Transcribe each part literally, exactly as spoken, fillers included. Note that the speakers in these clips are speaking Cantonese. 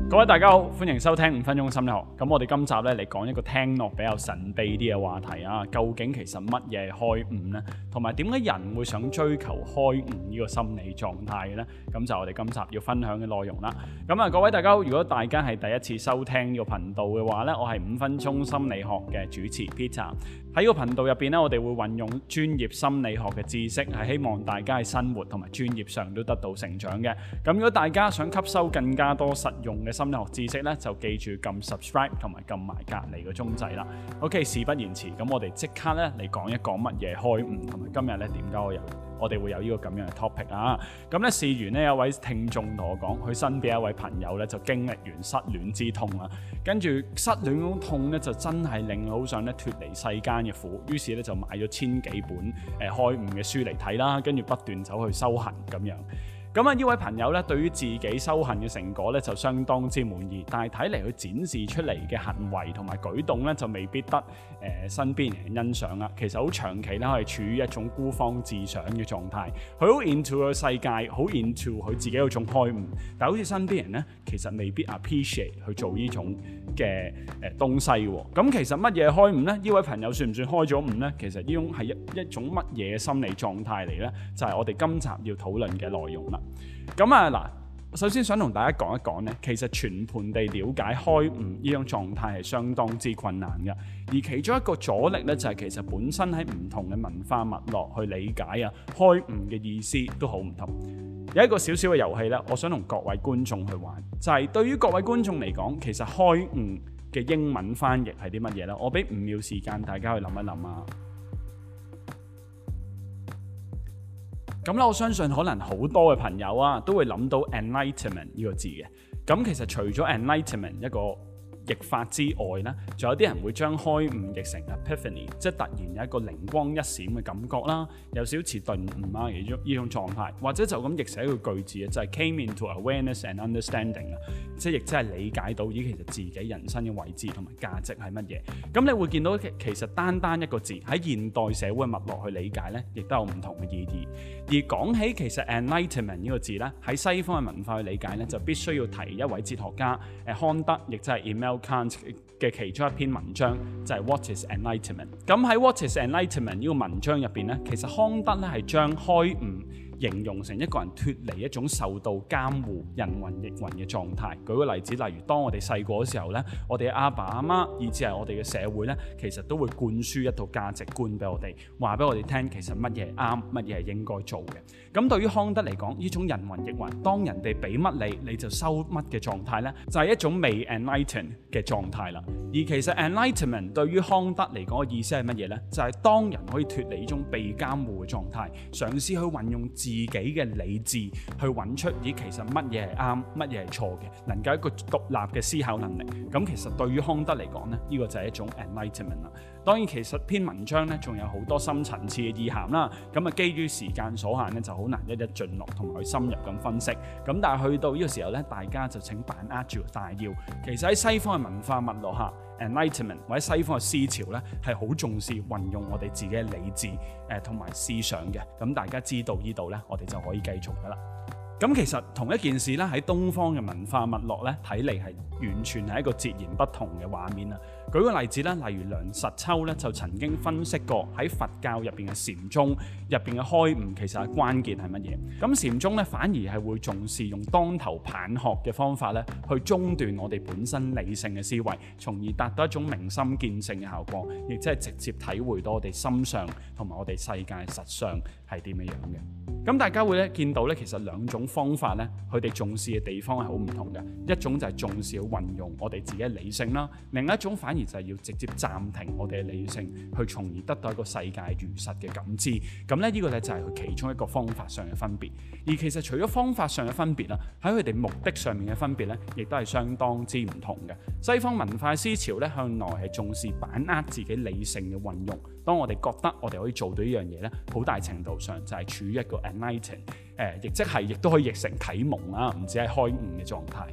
各位大家好，歡迎收聽五分鐘心理學。咁我哋今集咧嚟講一個聽落比較神秘啲嘅話題啊。究竟其實乜嘢係開悟呢？同埋點解人會想追求開悟呢個心理狀態嘅呢？咁就我哋今集要分享嘅內容啦。咁啊，各位大家好，如果大家係第一次收聽呢個頻道嘅話呢，我係五分鐘心理學嘅主持 Peter。喺呢個頻道入邊呢，我哋會運用專業心理學嘅知識，係希望大家喺生活同埋專業上都得到成長嘅。咁如果大家想吸收更加多實用嘅心理學知識咧，就記住撳 subscribe 同埋撳埋隔離個鐘仔啦。OK， 事不宜遲，咁我哋即刻咧嚟講一講乜嘢開悟，同埋今日咧點解我有我哋會有呢個咁樣嘅 topic 啊。咁咧事緣呢，有位聽眾同我講，佢身邊一位朋友咧就經歷完失戀之痛啦，跟住失戀嗰種痛咧就真係令佢好想咧脫離世間嘅苦，於是咧就買咗千幾本誒開悟嘅書嚟睇啦，跟住不斷走去修行咁樣。咁啊，呢位朋友咧，對於自己修行嘅成果咧，就相當之滿意。但係睇嚟佢展示出嚟嘅行為同埋舉動咧，就未必得誒、呃、身邊人欣賞啦。其實好長期咧，係處於一種孤芳自賞嘅狀態。佢好 into 個世界，好 into 佢自己嗰種開悟。但係好似身邊人咧，其實未必 appreciate 去做呢種嘅誒東西喎。咁其實乜嘢開悟咧？呢位朋友算唔算開咗悟咧？其實呢種係一一種乜嘢心理狀態嚟咧？就係、是、我哋今集要討論嘅內容啦。咁啊嗱，首先想同大家講一講咧，其實全盤地了解開悟呢種狀態係相當之困難嘅，而其中一個阻力咧就係其實本身喺唔同嘅文化脈絡去理解啊開悟嘅意思都好唔同。有一個小小嘅遊戲咧，我想同各位觀眾去玩，就係、是、對於各位觀眾嚟講，其實開悟嘅英文翻譯係啲乜嘢咧？我俾五秒時間大家去諗一諗啊。咁咧，我相信可能好多嘅朋友啊，都會諗到 enlightenment 呢個字嘅。咁其實除咗 enlightenment 一個譯法之外咧，仲有啲人會將開悟譯成 epiphany， 即係突然有一個靈光一閃嘅感覺啦，有少少似頓悟啊呢種呢種狀態，或者就咁譯寫一個句子啊，就係、是、came into awareness and understanding 啊，即係亦即係理解到咦其實自己人生嘅位置同埋價值係乜嘢。咁你會見到其實單單一個字喺現代社會脈絡去理解咧，亦都有唔同嘅意義。而講起其實 enlightenment 呢個字咧，喺西方嘅文化去理解咧，就必須要提一位哲學家誒康德，亦即係 Immanuel Kant 嘅其中一篇文章，就係、是、What is Enlightenment。咁喺 What is Enlightenment 呢個文章入邊咧，其實康德咧係將開悟形容成一個人脫離一種受到監護、人云亦云嘅狀態。舉個例子，例如當我哋細個嘅時候咧，我哋嘅阿爸阿媽，以至係我哋嘅社會咧，其實都會灌輸一套價值觀俾我哋，話俾我哋聽，其實乜嘢啱，乜嘢係應該做嘅。咁對於康德嚟講，呢種人云亦云，當人哋俾乜你，你就收乜嘅狀態咧，就係、是、一種未 enlighten 嘅狀態啦。而其實 enlightenment 對於康德嚟講嘅意思係乜嘢咧？就係、是、當人可以脫離呢種被監護嘅狀態，嘗試去運用自己嘅理智去揾出咦其實乜嘢係啱，乜嘢係錯嘅，能夠一個獨立嘅思考能力。咁其實對於康德嚟講咧，呢、這個就係一種 enlightenment 啦。當然其實篇文章咧仲有好多深層次嘅意涵啦。咁啊基於時間所限咧，就好難一一盡落同埋去深入咁分析。咁但係去到呢個時候咧，大家就請把握住大要。其實喺西方嘅文化脈絡下，Enlightenment 或者西方嘅思潮咧，係好重視運用我哋自己嘅理智誒同埋思想嘅。咁大家知道呢度咧，我哋就可以繼續噶啦。咁其實同一件事咧，喺東方嘅文化脈絡咧，睇嚟係完全係一個截然不同嘅畫面啊！舉個例子咧，例如梁實秋咧就曾經分析過喺佛教入邊嘅禪宗入邊嘅開悟，其實係關鍵係乜嘢？咁禪宗咧反而係會重視用當頭棒喝嘅方法咧，去中斷我哋本身理性嘅思維，從而達到一種明心見性嘅效果，亦即係直接體會到我哋心上同埋我哋世界實相係點樣樣嘅。咁大家會咧見到咧，其實兩種方法咧，佢哋重視嘅地方係好唔同嘅。一種就係重視去運用我哋自己嘅理性啦，另一種反而就係要直接暫停我哋嘅理性，去從而得到一個世界如實嘅感知。咁咧呢個咧就係佢其中一個方法上嘅分別。而其實除咗方法上嘅分別啦，喺佢哋目的上面嘅分別咧，亦都係相當之唔同嘅。西方文化思潮咧向來係重視把握自己理性嘅運用。當我哋覺得我哋可以做到呢樣嘢咧，好大程度上就係處於一個 enlighten，誒，亦即係亦都可以譯成啟蒙啦，唔止係開悟嘅狀態。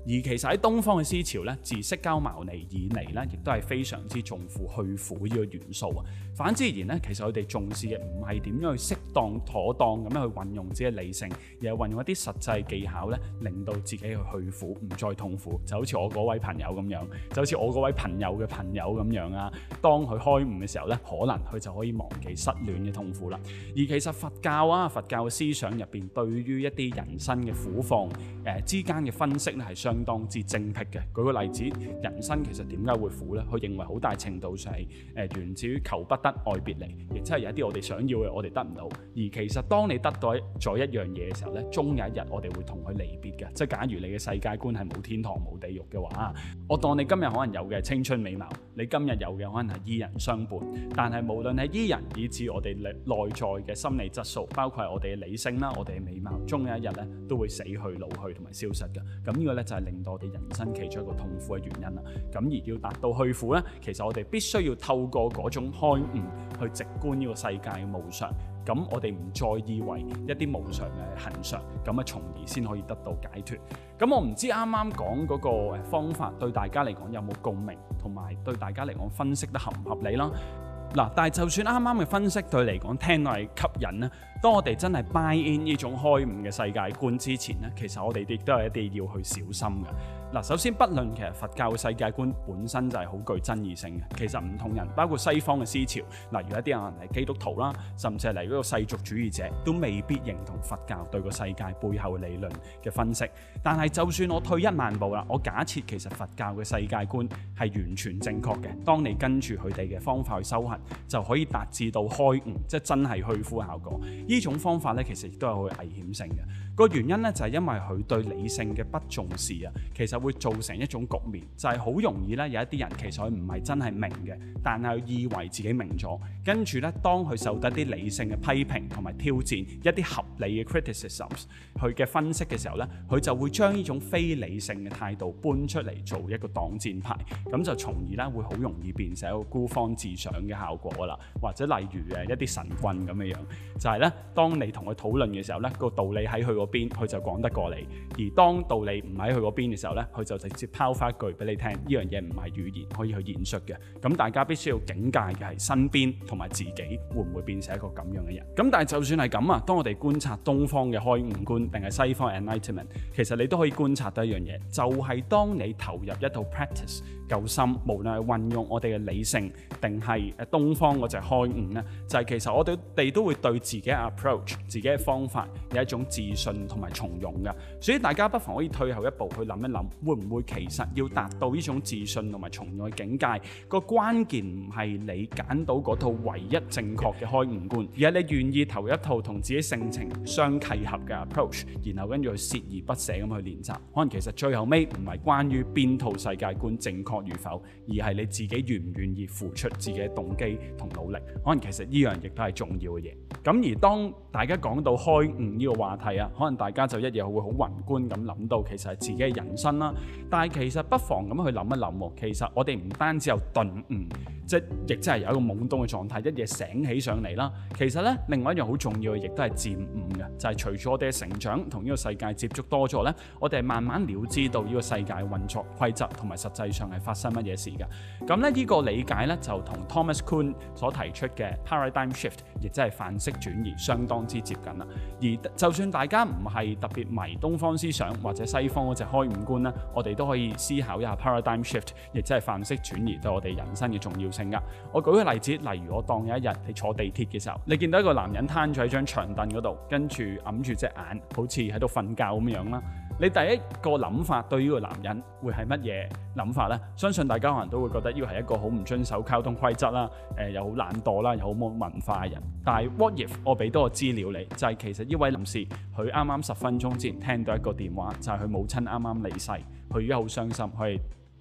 而其實喺東方嘅思潮咧，自釋迦牟尼以嚟咧，亦都係非常之重視去苦呢個元素啊。反之而言咧，其實佢哋重視嘅唔係點樣去適當妥當咁樣去運用自己嘅理性，而係運用一啲實際技巧咧，令到自己去去苦，唔再痛苦。就好似我嗰位朋友咁樣，就好似我嗰位朋友嘅朋友咁樣啊。當佢開悟嘅時候咧，可能佢就可以忘記失戀嘅痛苦啦。而其實佛教啊，佛教嘅思想入邊，對於一啲人生嘅苦況誒、呃、之間嘅分析咧，係相當之精闢嘅。舉個例子，人生其實點解會苦咧？佢認為好大程度上係誒、呃、源自於求不得愛別離，亦即係有一啲我哋想要嘅我哋得唔到。而其實當你得到咗一樣嘢嘅時候咧，終有一日我哋會同佢離別嘅。即係假如你嘅世界觀係冇天堂冇地獄嘅話，我當你今日可能有嘅青春美貌，你今日有嘅可能係伊人相伴，但係無論係伊人以至我哋內在嘅心理質素，包括係我哋嘅理性啦，我哋嘅美貌，終有一日咧都會死去老去同埋消失嘅。咁呢個咧就係令到我哋人生其中一個痛苦嘅原因啦。咁而要達到去苦咧，其實我哋必須要透過嗰種開悟去直觀呢個世界嘅無常。咁我哋唔再以為一啲無常嘅恆常，咁啊從而先可以得到解脫。咁我唔知啱啱講嗰個方法對大家嚟講有冇共鳴，同埋對大家嚟講分析得合唔合理啦。嗱，但係就算啱啱嘅分析對嚟講聽落係吸引咧，當我哋真係 buy in 呢種開悟嘅世界觀之前咧，其實我哋亦都係一啲要去小心嘅。嗱，首先不論其實佛教嘅世界觀本身就係好具爭議性嘅，其實唔同人，包括西方嘅思潮，例如一啲人係基督徒啦，甚至係嚟嗰個世俗主義者，都未必認同佛教對個世界背後理論嘅分析。但係就算我退一萬步啦，我假設其實佛教嘅世界觀係完全正確嘅，當你跟住佢哋嘅方法去修行，就可以達至到開悟，即係真係去苦效果。呢種方法咧，其實亦都有佢危險性嘅。個原因咧就係因為佢對理性嘅不重視啊，其實會造成一種局面，就係好容易咧有一啲人其實佢唔係真係明嘅，但係佢以為自己明咗，跟住咧當佢受得啲理性嘅批評同埋挑戰，一啲合理嘅 criticisms， 佢嘅分析嘅時候咧，佢就會將呢種非理性嘅態度搬出嚟做一個擋箭牌，咁就從而咧會好容易變成一個孤芳自賞嘅效果啦。或者例如誒一啲神棍咁嘅樣，就係咧當你同佢討論嘅時候咧，個道理喺佢嗰邊，佢就講得過你；而當道理唔喺佢嗰邊嘅時候咧，佢就直接拋翻一句俾你聽，呢樣嘢唔係語言可以去演述嘅。咁大家必須要警戒嘅係身邊同埋自己會唔會變成一個咁樣嘅人。咁但係就算係咁啊，當我哋觀察東方嘅開悟觀定係西方 enlightenment， 其實你都可以觀察到一樣嘢，就係、是、當你投入一套 practice 夠深，無論係運用我哋嘅理性定係誒東方嗰隻開悟咧，就係、是、其實我哋都會對自己嘅 approach、自己嘅方法有一種自信同埋從容嘅。所以大家不妨可以退後一步去諗一諗，會唔會其實要達到呢種自信同埋從容嘅境界，個關鍵唔係你揀到嗰套唯一正確嘅開悟觀，而係你願意投一套同自己性情相契合嘅 approach， 然後跟住去鍥而不捨咁去練習。可能其實最後尾唔係關於邊套世界觀正確與否，而係你自己願唔願意付出自己嘅動機同努力。可能其實呢樣亦都係重要嘅嘢。咁而當大家講到開悟呢個話題啊，可能大家就一嘢會好宏觀咁諗到，其實係自己嘅人生啦。但係其實不妨咁去諗一諗，其實我哋唔單止有頓悟，即係亦即係有一個懵懂嘅狀態，一夜醒起上嚟啦。其實咧，另外一樣好重要嘅，亦都係漸悟嘅，就係、是、隨住我哋嘅成長同呢個世界接觸多咗咧，我哋慢慢了知到呢個世界運作規則同埋實際上係發生乜嘢事㗎。咁咧呢個理解咧就同 Thomas Kuhn 所提出嘅 paradigm shift， 亦即係範式轉移，相當之接近啦。而就算大家唔係特別迷東方思想或者西方嗰隻開悟觀咧，我哋都可以思考一下 paradigm shift， 亦即係範式轉移對我哋人生嘅重要性㗎。我舉個例子，例如我當有一日你坐地鐵嘅時候，你見到一個男人攤咗喺張長凳嗰度，跟住揞住隻眼，好似喺度瞓覺咁樣啦。你第一個諗法對呢個男人會係乜嘢諗法呢？相信大家可能都會覺得呢個係一個好唔遵守交通規則啦，誒、呃、又好懶惰啦，又好冇文化嘅人。但係 what if 我俾多個資料你，就係、是、其實呢位男士佢啱啱十分鐘之前聽到一個電話，就係、是、佢母親啱啱離世，佢而家好傷心，佢係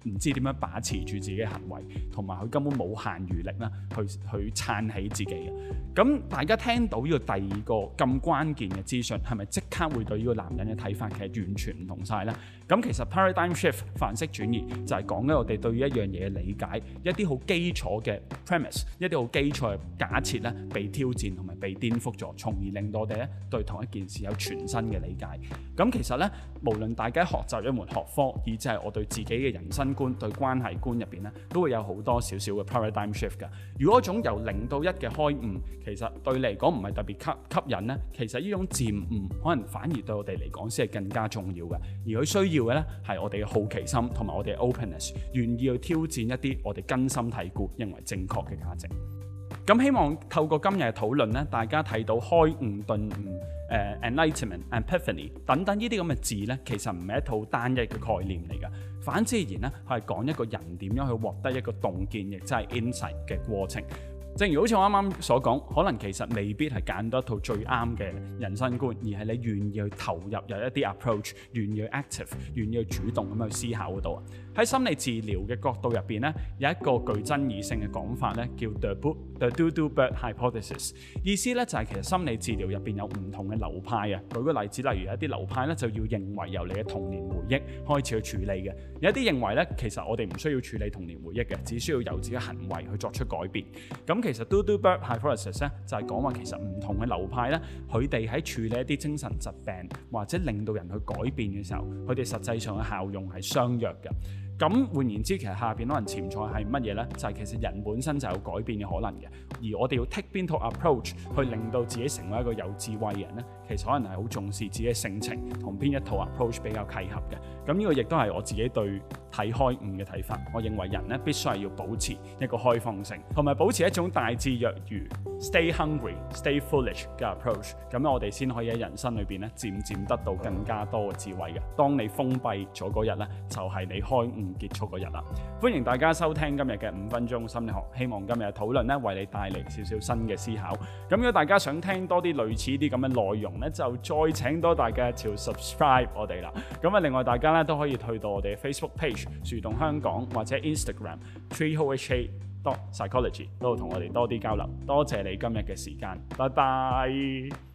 唔知點樣把持住自己嘅行為，同埋佢根本冇限餘力啦，去去撐起自己嘅。咁大家聽到呢個第二個咁關鍵嘅資訊，係咪即刻會對呢個男人嘅睇法其實完全唔同晒呢？咁其實 paradigm shift 範式轉移就係講緊我哋對於一樣嘢嘅理解，一啲好基礎嘅 premise， 一啲好基礎嘅假設咧被挑戰同埋被顛覆咗，從而令到我哋咧對同一件事有全新嘅理解。咁其實咧，無論大家學習一門學科，以至係我對自己嘅人生觀、對關係觀入邊咧，都會有好多少少嘅 paradigm shift 㗎。如果一種由零到一嘅開悟，其實對你嚟講唔係特別吸吸引咧，其實呢種漸悟可能反而對我哋嚟講先係更加重要嘅。而佢需要嘅咧係我哋嘅好奇心同埋我哋嘅 openness， 願意去挑戰一啲我哋根深蒂固認為正確嘅價值。咁希望透過今日嘅討論咧，大家睇到開悟、頓悟、誒 enlightenment、epiphany 等等呢啲咁嘅字咧，其實唔係一套單一嘅概念嚟㗎。反之而言咧，係講一個人點樣去獲得一個洞見，亦即係 insight 嘅過程。正如好似我啱啱所講，可能其實未必係揀到一套最啱嘅人生觀，而係你願意去投入有一啲 approach， 願意去 active， 願意去主動咁去思考嗰度啊。喺心理治療嘅角度入邊咧，有一個具爭議性嘅講法咧，叫 The The Do Do Bird Hypothesis。意思咧就係其實心理治療入邊有唔同嘅流派啊。舉個例子，例如有一啲流派咧就要認為由你嘅童年回憶開始去處理嘅，有一啲認為咧其實我哋唔需要處理童年回憶嘅，只需要由自己行為去作出改變。咁其實 Do Do Bird Hypothesis 咧就係講話其實唔同嘅流派咧，佢哋喺處理一啲精神疾病或者令到人去改變嘅時候，佢哋實際上嘅效用係相若嘅。咁換言之，其實下邊可能潛在係乜嘢呢？就係、是、其實人本身就有改變嘅可能嘅，而我哋要 take 邊套 approach 去令到自己成為一個有智慧嘅人呢？其實可能係好重視自己嘅性情同邊一套 approach 比較契合嘅。咁呢個亦都係我自己對睇開悟嘅睇法。我認為人呢必須係要保持一個開放性，同埋保持一種大智若愚 stay hungry stay foolish 嘅 approach。咁我哋先可以喺人生裏邊呢漸漸得到更加多嘅智慧嘅。當你封閉咗嗰日呢，就係、是、你開悟結束嗰日啦。歡迎大家收聽今日嘅五分鐘心理學，希望今日嘅討論呢為你帶嚟少少新嘅思考。咁如果大家想聽多啲類似啲咁嘅內容呢，就再請多大家朝 subscribe 我哋啦。咁啊，另外大家呢都可以去到我哋嘅 Facebook page 樹洞香港或者 Instagram treeholeha dot psychology 都同我哋多啲交流。多謝你今日嘅時間，拜拜。